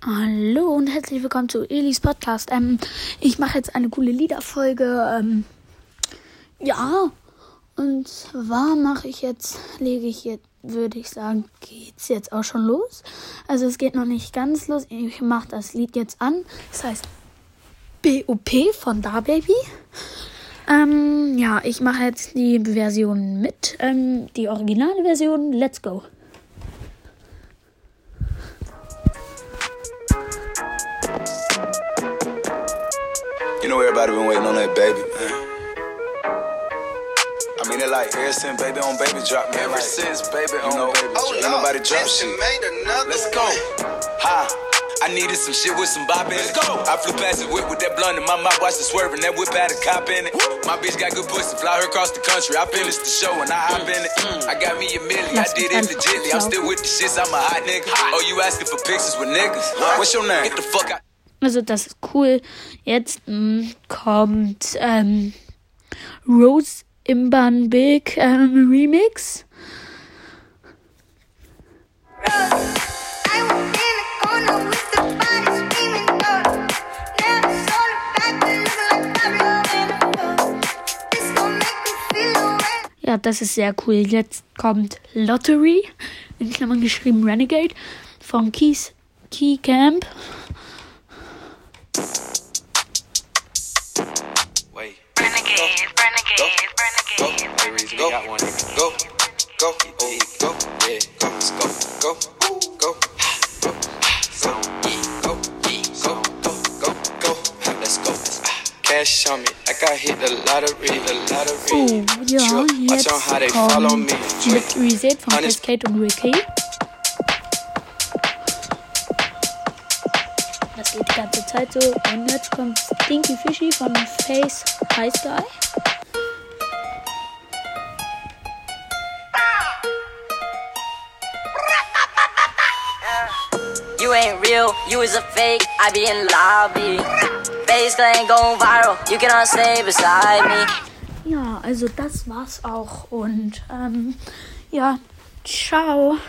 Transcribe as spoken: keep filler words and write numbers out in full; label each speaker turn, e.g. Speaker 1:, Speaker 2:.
Speaker 1: Hallo und herzlich willkommen zu Elis Podcast. Ähm, ich mache jetzt eine coole Liederfolge. Ähm, ja, und zwar mache ich jetzt, lege ich jetzt, würde ich sagen, geht's jetzt auch schon los. Also es geht noch nicht ganz los. Ich mache das Lied jetzt an. Das heißt B O P von DaBaby. Ähm, ja, ich mache jetzt die Version mit. Ähm, die originale Version. Let's go.
Speaker 2: You know everybody been waiting on that baby, man. I mean, it like ever since baby on baby drop, man. Ever like, since baby on know, baby drop, oh, ain't nobody drop shit. Let's go. Ha. I needed some shit with some bop in it. Let's go. I flew past the whip with that blunt in my mouth, watched it swerving. That whip had a cop in it. My bitch got good pussy, fly her across the country. I finished the show and I hop in it. I got me a million, I did it legitly. I'm still with the shits, I'm a hot nigga. Oh, you asking for pictures with niggas? What's your name? Get the fuck out.
Speaker 1: Also das ist cool. Jetzt mh, kommt ähm, Rose Imban Big ähm, Remix. Ja, das ist sehr cool. Jetzt kommt Lottery, in Klammern geschrieben Renegade, von Keys Key Camp.
Speaker 2: Wait. Renegade, renegade, renegade, go, go, go, go, oh, go, yeah, go, let's go, go, go, go, so, yeah, go, yeah, go, go, go, go, let's go. Cash on me, like I hit the lottery, the lottery.
Speaker 1: Oh, ja, jetzt kommt mit Reset von Cascade und Ricky. Das geht die ganze Zeit so. Und jetzt kommt Stinky Fishy von Face High Sky.
Speaker 3: You ain't real, you is a fake, I be in lobby. Face ain't going viral, you cannot stay beside me.
Speaker 1: Ja, also das war's auch. Und ähm, ja, ciao.